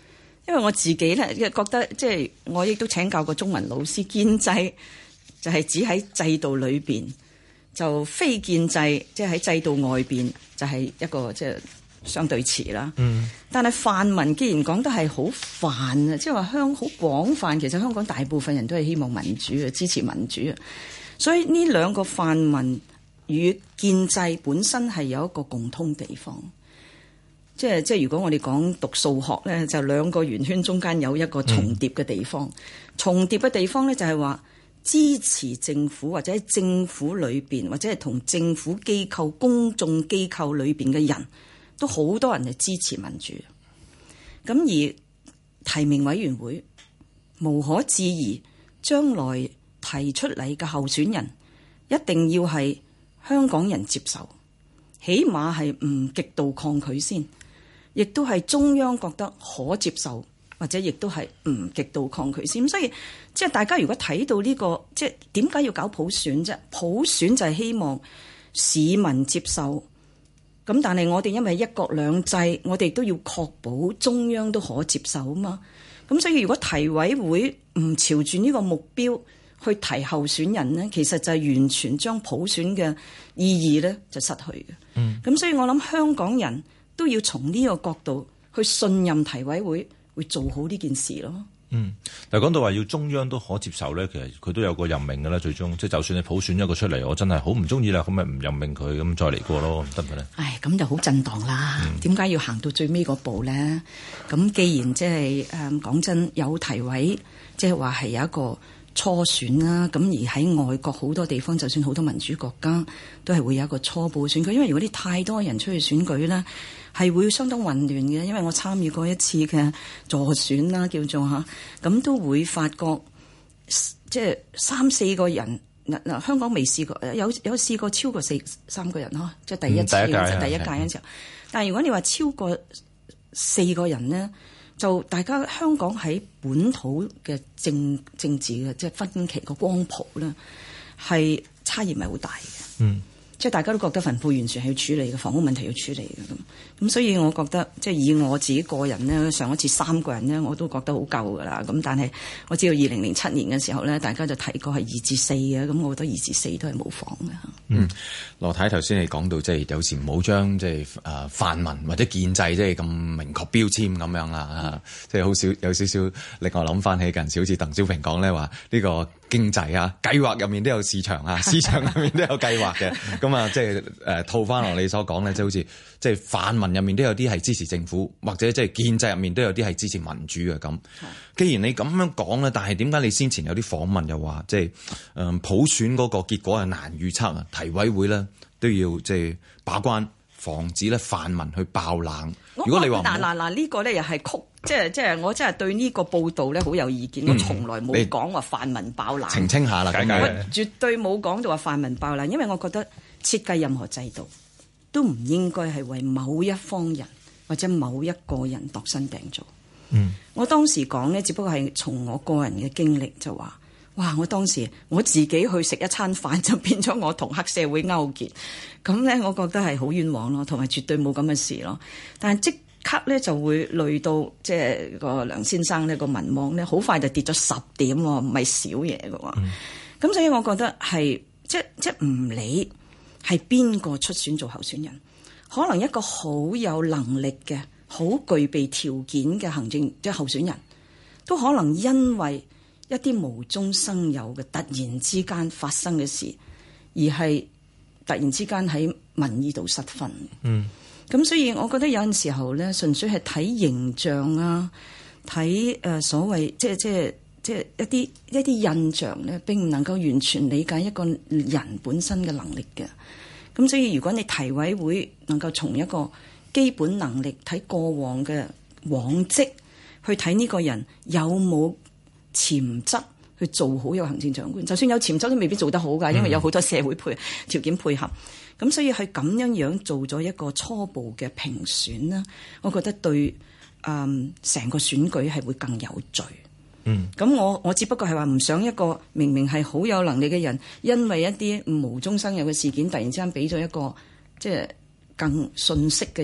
因為我自己咧覺得，即係我亦都請教過中文老師，建制就係指喺制度裏邊，就非建制即係喺制度外邊就係一個即係相對詞啦。嗯。但係泛民既然講得係好泛啊，即係話香好廣泛，其實香港大部分人都係希望民主嘅，支持民主啊。所以呢兩個泛民與建制本身係有一個共通地方。即係即係，如果我哋講讀數學咧，就兩個圓圈中間有一個重疊嘅地方。嗯、重疊嘅地方咧，就係話支持政府或者喺政府裏邊，或者係同政府機構、公眾機構裏邊嘅人都好多人係支持民主。咁而提名委員會無可置疑，將來提出嚟嘅候選人一定要係香港人接受，起碼係唔極度抗拒先。亦都係中央覺得可接受，或者亦都係唔極度抗拒先。所以即係大家如果睇到呢個，即係點解要搞普選啫？普選就係希望市民接受。咁但係我哋因為一國兩制，我哋都要確保中央都可接受啊嘛。咁所以如果提委會唔朝住呢個目標去提候選人呢，其實就係完全將普選嘅意義咧就失去嘅。嗯。咁所以我諗香港人都要從呢個角度去信任提委會會做好呢件事咯。 嗯，但係講到話要中央都可接受咧，其實佢都有個任命嘅啦。最終即係就算你普選一個出嚟，我真係好唔中意啦，咁咪唔任命佢，咁再嚟過咯，得唔得咧？唉， 咁就好震盪啦。點解、嗯、要行到最尾嗰步咧？咁既然即係誒講真有提委，即係話係有一個初選啦。咁而喺外國好多地方，就算好多民主國家都係會有一個初步選舉，因為如果你太多人出去選舉咧，係會相當混亂嘅。因為我參與過一次嘅助選啦，叫做嚇，咁都會發覺即係三四個人嗱嗱，香港未試過，有有試過超過四三個人呵，即係第一次、嗯、第一屆第一屆嘅時候。但係如果你話超過四個人呢，就大家香港喺本土嘅政政治嘅即係分歧個光譜咧，係差異唔係好大嘅。嗯。即係大家都覺得貧富懸殊係要處理嘅，房屋問題要處理嘅咁，咁所以我覺得即係以我自己個人呢，上一次三個人呢，我都覺得好夠㗎啦。咁但係我知道二零零七年嘅時候呢，大家就提過係二至四嘅，咁我覺得二至四都係冇妨嘅。 嗯，羅太頭先你講到即係有時唔好將即係誒泛民或者建制即係咁明確標籤咁樣啦，即係好少有少少令我諗翻起近時好似鄧小平講咧話呢個經濟啊計劃入面都有市場啊，市場入面都有計劃嘅。咁啊，即係誒套翻落你所講咧，即係好似即係泛民入面都有啲係支持政府，或者即係建制入面都有啲係支持民主嘅咁。既然你咁樣講咧，但係點解你先前有啲訪問又話即係誒普選嗰個結果係難預測啊？提委會咧都要即係把關，防止咧泛民去爆冷。如果你話嗱嗱嗱呢個咧又係曲，即係即係我真係對呢個報導咧好有意見。嗯、我從來冇講話泛民爆冷， 澄清下啦，解解。 我絕對冇講到話泛民爆冷，因為我覺得設計任何制度都唔應該係為某一方人或者某一個人度身訂造。嗯，我當時講咧，只不過係從我個人嘅經歷就話，哇！我當時我自己去食一餐飯就變咗我同黑社會勾結，咁咧我覺得係好冤枉咯，同埋絕對冇咁嘅事咯。但係即刻咧就會累到即係個梁先生呢個民望咧好快就跌咗十點喎，唔係少嘢嘅喎。咁、嗯、所以我覺得係即即唔理係邊個出選做候選人，可能一個好有能力嘅、好具備條件嘅行政即係候選人，都可能因為一啲無中生有嘅突然之間發生嘅事，而係突然之間喺民意度失分。嗯，咁所以我覺得有陣時候咧，純粹係睇形象啊，睇誒、呃、所謂即係即係即係一啲一啲印象咧，並唔能夠完全理解一個人本身嘅能力嘅。咁所以如果你提委會能夠從一個基本能力睇過往嘅往績，去睇呢個人有冇潛質去做好一個行政長官，就算有潛質都未必做得好㗎，因為有好多社會配條件配合。咁所以係咁樣樣做咗一個初步嘅評選啦，我覺得對誒成、嗯、個選舉係會更有序。嗯，咁我我只不過係話唔想一個明明係好有能力嘅人，因為一啲無中生有嘅事件，突然之間俾咗一個即係更遜色嘅人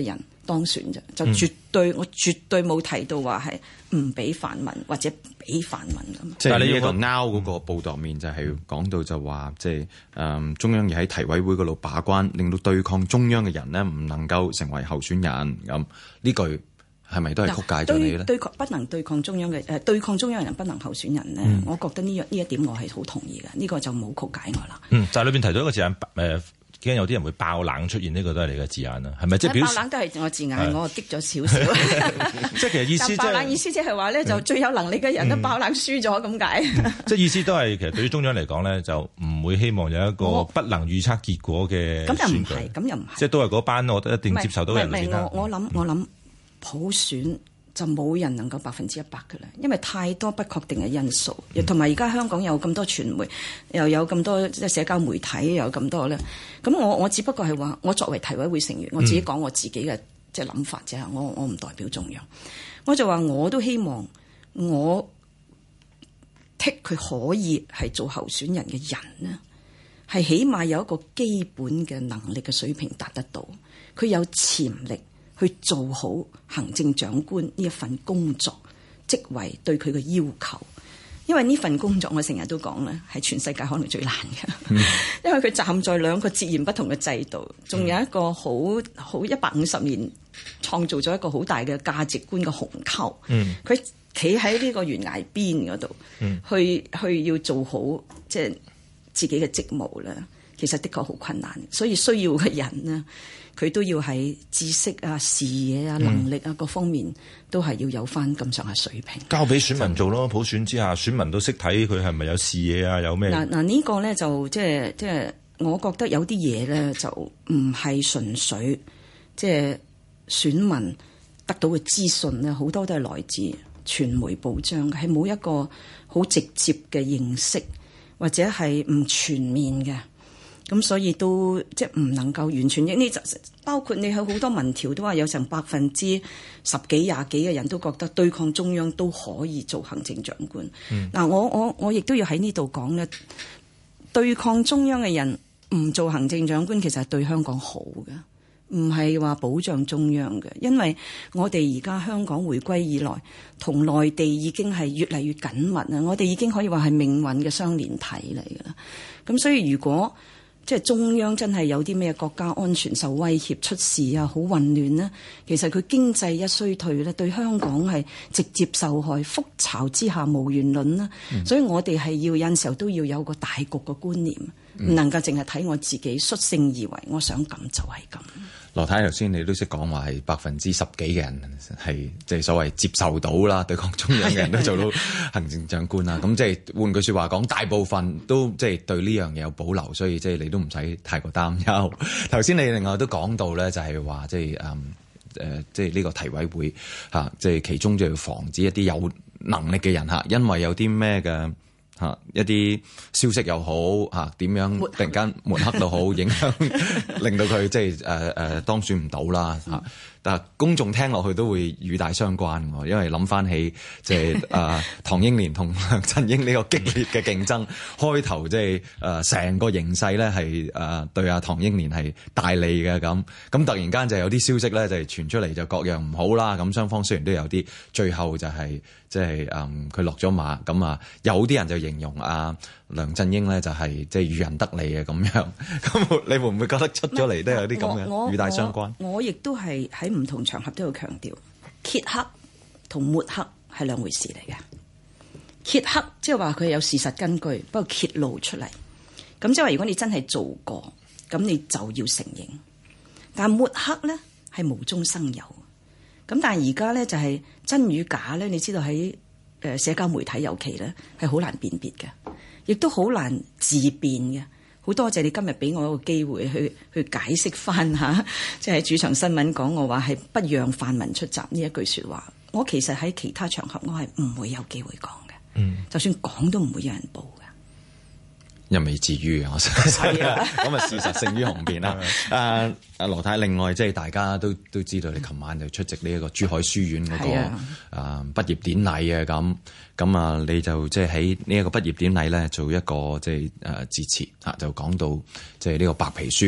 當選啫，就絕對、嗯、我絕對冇提到話係唔俾泛民或者俾泛民咁。 即係呢個 Now 嗰個報導面就係講到就話，即係誒中央要喺提委會嗰度把關，令到對抗中央嘅人呢唔能夠成為候選人咁。呢句係咪都係曲解咗你咧？對抗不能對抗中央嘅誒、呃，對抗中央嘅人不能候選人呢、嗯、我覺得呢呢一點我係好同意嘅。呢、呢個就冇曲解我啦。嗯， 就係裏邊提到一個字眼誒。呃驚有啲人會爆冷出現，呢、這個都係你嘅字眼啦，係咪？即係表示爆冷都係我字眼，我激咗少少。 即係其實意思、就是， 爆冷意思即係話咧，就最有能力嘅人都爆冷輸咗咁解。 即係意思都係其實對於中央嚟講咧，就唔會希望有一個不能預測結果嘅選舉。 咁又唔係，咁又唔係。 即係都係嗰班，我覺得一定接受到人先啦。 我我諗我諗普選就冇人能夠百分之一百㗎啦，因為太多不確定嘅因素，同埋而家香港有咁多傳媒，又有咁多即係社交媒體，又有咁多咧。咁我我只不過係話，我作為提委會成員，我自己講我自己嘅即係諗法啫。我我唔代表中央，我就話我都希望我剔佢可以係做候選人嘅人呢，係起碼有一個基本嘅能力嘅水平達得到，佢有潛力去做好行政長官呢一份工作職位對佢嘅要求，因為呢份工作我成日都講咧，係全世界可能最難嘅，嗯、因為佢站在兩個截然不同嘅制度，仲有一個好好一百五十年創造咗一個好大嘅價值觀嘅鴻溝，佢企喺呢個懸崖邊嗰度，嗯、去去要做好即係自己嘅職務咧，其實的確好困難，所以需要嘅人呢，佢都要喺知識啊、視野啊、能力啊、嗯、各方面都係要有翻咁上下水平。 交俾選民做咯，普選之下，選民都識睇佢係咪有視野啊，有咩？嗱嗱呢個咧就即係即係，我覺得有啲嘢咧就唔係純粹即係選民得到嘅資訊咧，好多都係來自傳媒報章嘅，係冇一個好直接嘅認識，或者係唔全面嘅。咁所以都即係唔能夠完全應呢，就包括你有好多民調都話有成百分之十幾廿幾嘅人都覺得對抗中央都可以做行政長官。嗱、嗯，我我我亦都要喺呢度講咧，對抗中央嘅人唔做行政長官，其實係對香港好嘅，唔係話保障中央嘅，因為我哋而家香港回歸以來，同內地已經係越嚟越緊密啊！我哋已經可以話係命運嘅雙連體嚟㗎啦。咁所以如果即係中央真係有啲咩國家安全受威脅、出事啊，好混亂呢，其實佢經濟一衰退咧，對香港係直接受害。覆巢之下無完卵啦，嗯、所以我哋係要有陣時候都要有個大局嘅觀念，唔、嗯、能夠淨係睇我自己率性而為，我想咁就係咁。 羅太頭先你都識講話係百分之十幾嘅人係即係所謂接受到啦，對抗中央嘅人都做到行政長官啦。咁即係換句説話講，大部分都即係對呢樣嘢有保留，所以即係你都唔使太過擔憂。頭先你另外都講到咧，就係話即係誒誒，即係呢個提委會嚇，即係其中就要防止一啲有能力嘅人嚇，因為有啲咩嘅。嚇一啲消息又好嚇，點樣突然間抹黑都好，影響令到佢即係誒誒當選唔到啦嚇。但係公眾聽落去都會與大相關喎，因為諗翻起即係誒唐英年同梁振英呢個激烈嘅競爭，開頭即係誒成個形勢咧係誒對阿唐英年係大利嘅咁，咁突然間就有啲消息咧就係傳出嚟就各樣唔好啦，咁雙方雖然都有啲，最後就係即係誒佢落咗馬，咁啊有啲人就形容阿梁振英咧就係即係漁人得利嘅咁樣，咁你會唔會覺得出咗嚟都有啲咁嘅與大相關？ 我亦都係喺唔同場合都要強調，揭黑同抹黑係兩回事嚟嘅。揭黑即係話佢有事實根據，不過揭露出嚟，咁即係話如果你真係做過，咁你就要承認。但抹黑咧係無中生有，咁但係而家咧就係真與假咧，你知道喺誒社交媒體尤其咧係好難辨別嘅，亦都好難自辯嘅。好多謝你今日俾我一個機會去去解釋翻嚇，即係喺主場新聞講我話係不讓泛民出閘呢一句説話。我其實喺其他場合我係唔會有機會講嘅，嗯，就算講都唔會有人報嘅， 又未至於我相信咁啊，事實勝於雄辯啦。誒誒，羅太，另外即係大家都都知道，你琴晚就出席呢一個珠海書院嗰、那個誒、呃、畢業典禮嘅咁。咁啊，你就即係喺呢一個畢業典禮咧，做一個即係誒致辭嚇，就講到即係呢個白皮書。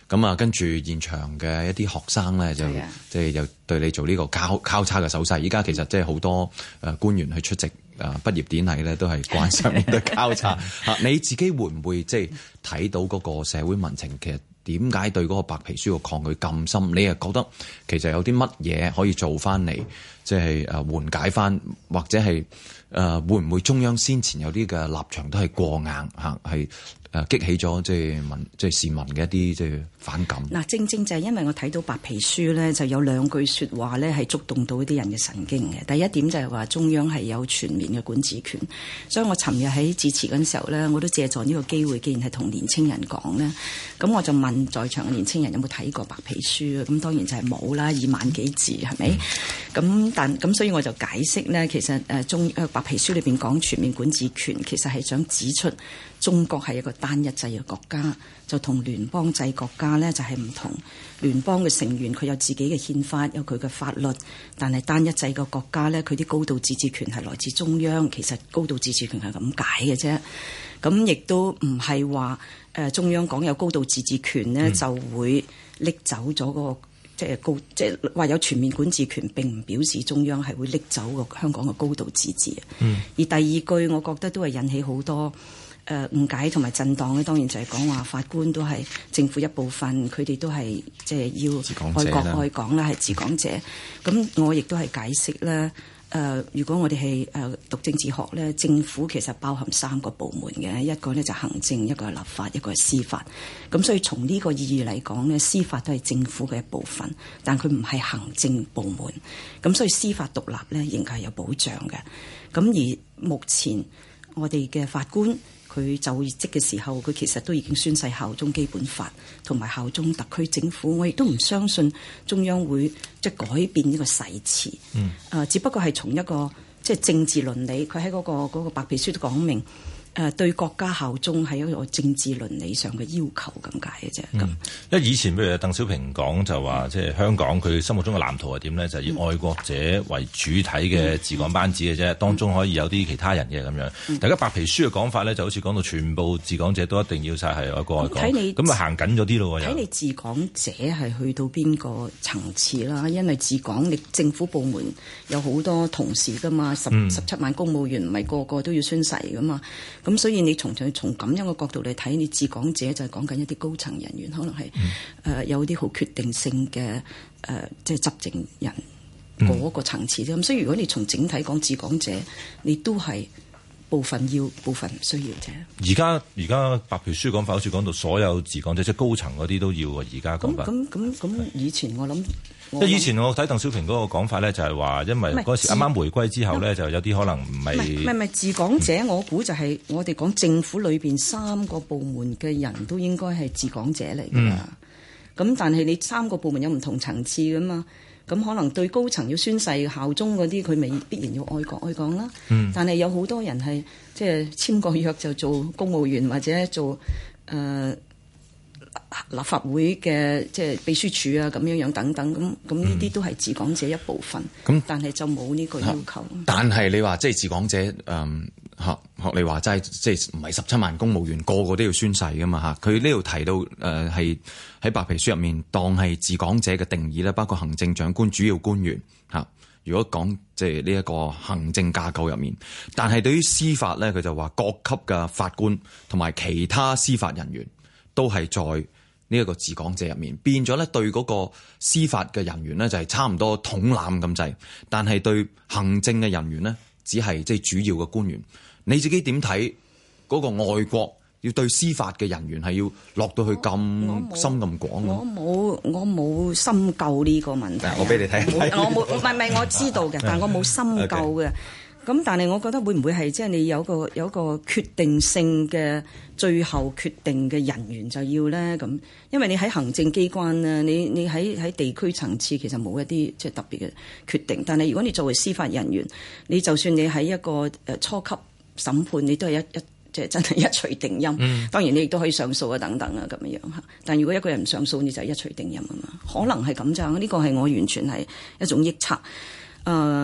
咁啊，跟住現場嘅一啲學生咧，就即係又對你做呢個交交叉嘅手勢。依家其實即係好多誒官員去出席誒畢業典禮咧，都係慣上面嘅交叉。嚇，你自己會唔會即係睇到嗰個社會民情？其實點解對嗰個白皮書嘅抗拒咁深？你又覺得其實有啲乜嘢可以做翻嚟，即係誒緩解翻，或者係誒、呃、會唔會中央先前有啲嘅立場都係過硬嚇，係誒激起咗即係民即係市民嘅一啲即係反感？ 嗱，正正就係因為我睇到白皮書咧，就有兩句説話咧係觸動到啲人嘅神經嘅。第一點就係話中央係有全面嘅管治權，所以我尋日喺致辭嗰陣時候咧，我都借助呢個機會，既然係同年青人講咧，咁我就問在場嘅年青人有冇睇過白皮書啊？咁當然就係冇啦，二萬幾字係咪？咁、嗯、但咁所以我就解釋咧，其實誒中誒白皮書裏邊講全面管治權，其實係想指出中國係一個單一制嘅國家，就同聯邦制國家咧就係唔同。聯邦嘅成員佢有自己嘅憲法，有佢嘅法律，但係單一制嘅國家咧，佢啲高度自治權係來自中央。其實高度自治權係咁解嘅啫。咁亦都唔係話誒中央講有高度自治權咧，嗯、就會拎走咗嗰個即係高，即係話有全面管治權，並唔表示中央係會拎走個香港嘅高度自治。嗯、而第二句，我覺得都係引起好多誒誤解同埋震盪咧。當然就係講話法官都係政府一部分，佢哋都係即係要愛國愛港啦，係治港者。咁我亦都係解釋咧。誒、呃，如果我哋係誒讀政治學咧，政府其實包含三個部門嘅，一個咧就行政，一個係立法，一個係司法。咁所以從呢個意義嚟講咧，司法都係政府嘅一部分，但佢唔係行政部門。咁所以司法獨立咧，仍然係有保障嘅。咁而目前我哋嘅法官，佢就職嘅時候，佢其實都已經宣誓效忠基本法同埋效忠特區政府。我亦都唔相信中央會即係改變呢個誓詞。嗯，誒，只不過係從一個即係政治倫理，佢喺嗰個嗰個白皮書都講明。誒對國家效忠係一個政治倫理上嘅要求咁解嘅啫。咁、嗯， 因為以前譬如鄧小平講就話，即係香港佢心目中嘅藍圖係點咧？就係、是、以愛國者為主體嘅治港班子嘅啫，嗯、當中可以有啲其他人嘅咁樣。嗯、大家白皮書嘅講法咧，就好似講到全部治港者都一定要晒係愛國愛港。睇你咁啊行緊咗啲咯喎。睇你治港者係去到邊個層次啦？因為治港你政府部門有好多同事噶嘛，十十七萬公務員唔係個個都要宣誓噶嘛。咁所以你從從從咁樣嘅角度嚟睇，你治港者就係講緊一啲高層人員，可能係誒、嗯呃、有啲好決定性嘅誒、呃，即係執政人嗰個層次啫。咁、嗯、所以如果你從整體講治港者，你都係部分要，部分唔需要啫。而家而家白皮書講法好似講到所有治港者，即係高層嗰啲都要啊。而家講法咁咁咁咁，以前我諗。 即係以前我睇鄧小平嗰個講法咧，就係話，因為嗰時啱啱回歸之後咧，就有啲可能唔係唔係唔係治港者，嗯、我估就係我哋講政府裏邊三個部門嘅人都應該係治港者嚟㗎。咁、嗯、但係你三個部門有唔同層次㗎嘛？咁可能對高層要宣誓效忠嗰啲，佢未必然要愛國愛港啦。嗯、但係有好多人係即係簽個約就做公務員或者做誒。呃立法會嘅即係秘書處啊，咁樣樣等等，咁咁呢啲都係治港者一部分。咁、嗯、但係就冇呢個要求。 但係你話即係治港者，誒、嗯、學學你話齋，即係唔係十七萬公務員個個都要宣誓噶嘛嚇？佢呢度提到誒係喺白皮書入面當係治港者嘅定義咧，包括行政長官、主要官員嚇。如果講即係呢一個行政架構入面，但係對於司法咧，佢就話各級嘅法官同埋其他司法人員都係在呢一個治港者入面，變咗咧對嗰個司法嘅人員咧就係差唔多統攬咁滯，但係對行政嘅人員咧只係即係主要嘅官員。你自己點睇嗰個外國要對司法嘅人員係要落到去咁深咁廣？ 我冇我冇深究呢個問題。 我俾你睇， 我冇唔係唔係我知道嘅，但我冇深究嘅。咁 Okay. 但係我覺得會唔會係即係你有個有個決定性嘅最後決定嘅人員就要咧咁？因為你喺行政機關咧，你你喺喺地區層次其實冇一啲即係特別嘅決定。但係如果你作為司法人員，你就算你喺一個誒初級審判，你都係一一即係真係一錘定音。嗯、當然你亦都可以上訴啊等等啊咁樣樣嚇。但如果一個人唔上訴，你就係一錘定音啊嘛。可能係咁咋？呢個係我完全係一種臆測。誒、呃。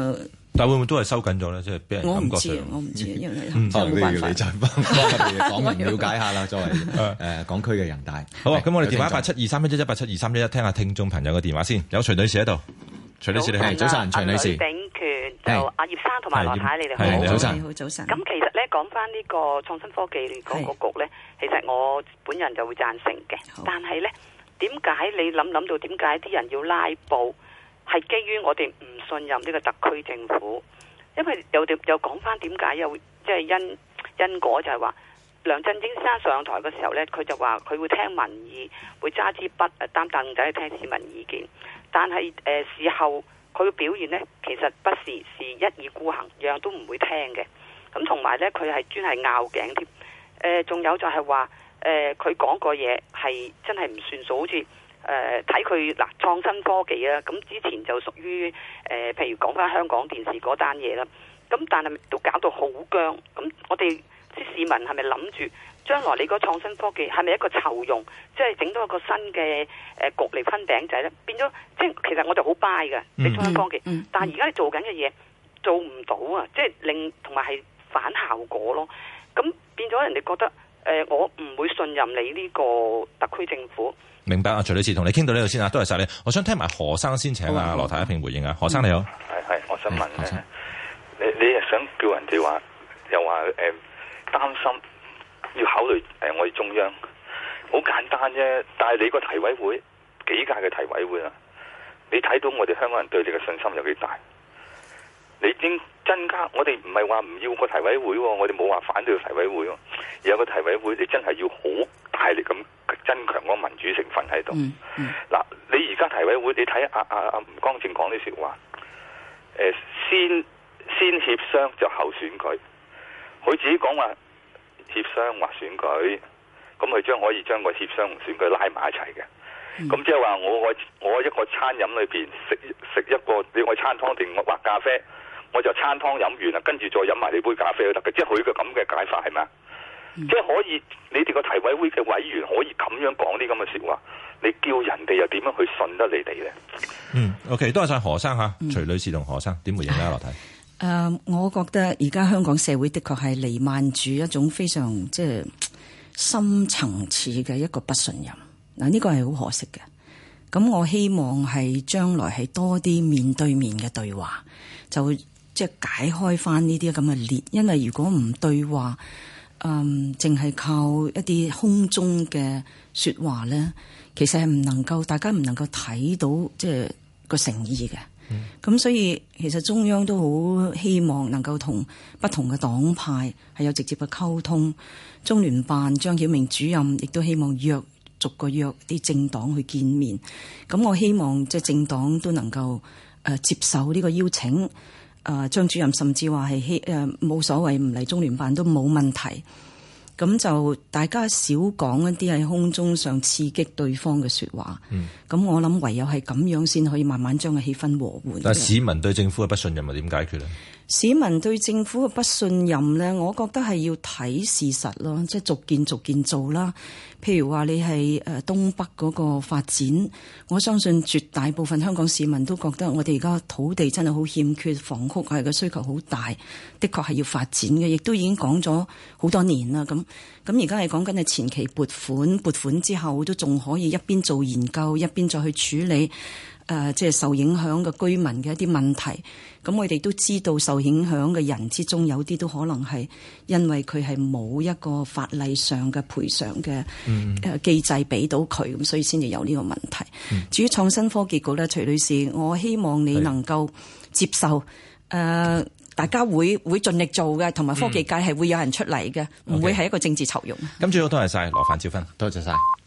但會唔會都係收緊咗咧？即係俾人感覺上， 我唔知，因為嗯，可能都要你再幫幫我哋港人了解下啦。作為誒港區嘅人大， 好啊。咁我哋電話一八七二三一一一八七二三一一，聽下聽眾朋友嘅電話先。有徐女士喺度，徐女士你好，早晨，徐女士。 呂秉權就阿葉生同埋羅太，你哋好， 早晨， 好早晨。 咁其實咧講翻呢個創新科技嗰個局咧，其實我本人就會贊成嘅。但係咧，點解你諗諗到點解啲人要拉布？係基於我哋唔信任呢個特區政府，因為又又講翻點解又即係因因果就係話梁振英先生上台嘅時候呢，佢就話佢會聽民意，會揸支筆擔凳仔去聽市民意見。但係誒、呃、事後佢嘅表現呢，其實不是是一意孤行，樣樣都唔會聽嘅。咁同埋呢，佢係專係拗頸添。誒、呃，仲有就係話誒，佢講個嘢係真係唔算數，好似。誒睇佢嗱創新科技啊，咁之前就屬於誒、呃，譬如講翻香港電視嗰單嘢啦。咁但係都搞到好僵。咁我哋啲市民係咪諗住將來你個創新科技係咪一個籌用，即係整到一個新嘅誒、呃、局嚟分餅仔咧？變咗即係其實我就好 buy 嘅你創新科技，嗯嗯、但係而家你做緊嘅嘢做唔到啊！即係令同埋係反效果咯。咁變咗人哋覺得誒、呃，我唔會信任你呢個特區政府。 明白啊，徐女士同你傾到呢度先啊，多謝晒你。我想聽埋何生先，請阿羅太一併回應啊。何生你好， 係係，我想問咧、嗯，你你係想叫人哋話，又話誒擔心要考慮誒、呃、我哋中央，好簡單啫。但係你個提委會幾屆嘅提委會啊，你睇到我哋香港人對你嘅信心有幾大？你應增加，我哋唔係話唔要個提委會，我哋冇話反對個提委會，而有個提委會，你真係要好大力咁增強嗰個民主成分喺度。嗱、嗯嗯，你而家提委會，你睇阿阿阿吳光正講啲說話，誒、呃，先先協商就後選舉，佢自己講話協商或選舉，咁佢將可以將個協商同選舉拉埋一齊嘅。咁即係話我我我一個餐飲裏邊食食一個，你我餐湯定我或咖啡，我就餐湯飲完啦，跟住再飲埋你杯咖啡都得嘅，即係佢嘅咁嘅解法係咪啊？嗯、即係可以，你哋個提委會嘅委員可以咁樣講啲咁嘅說話，你叫人哋又點樣去信得你哋咧？ 嗯 ，OK， 多謝晒何生吓，徐女士同何生點回應咧？羅太，誒、 呃，我覺得而家香港社會的確係彌漫住一種非常即係深層次嘅一個不信任。嗱，呢個係好可惜嘅。咁我希望係將來係多啲面對面嘅對話，就會即係解開翻呢啲咁嘅裂。因為如果唔對話，嗯，淨係靠一啲空中嘅說話咧，其實係唔能夠，大家唔能夠睇到即係個誠意嘅。咁、嗯、所以其實中央都好希望能夠同不同嘅黨派係有直接嘅溝通。中聯辦張曉明主任亦都希望約。逐個約啲政黨去見面，咁我希望即係政黨都能夠誒、呃、接受呢個邀請。誒、呃、張主任甚至話係希誒冇所謂，唔嚟中聯辦都冇問題。咁就大家少講一啲喺空中上刺激對方嘅說話。嗯，咁我諗唯有係咁樣先可以慢慢將個氣氛和緩。 但係市民對政府嘅不信任係點解決咧？ 市民對政府嘅不信任咧，我覺得係要睇事實咯，即係逐件逐件做啦。譬如話你係誒東北嗰個發展，我相信絕大部分香港市民都覺得我哋而家土地真係好欠缺，房屋係個需求好大，的確係要發展嘅，亦都已經講咗好多年啦。咁咁而家係講緊係前期撥款，撥款之後都仲可以一邊做研究，一邊再去處理誒、呃、即係受影響嘅居民嘅一啲問題。咁我哋都知道受影響嘅人之中，有啲都可能係因為佢係冇一個法例上嘅賠償嘅誒機制俾到佢，咁所以先至有呢個問題。嗯、至於創新科技局咧，徐女士，我希望你能夠接受誒、呃，大家會會盡力做嘅，同埋科技界係會有人出嚟嘅，唔、嗯、會係一個政治酬庸。 咁最好多謝晒羅范椒芬，多謝晒。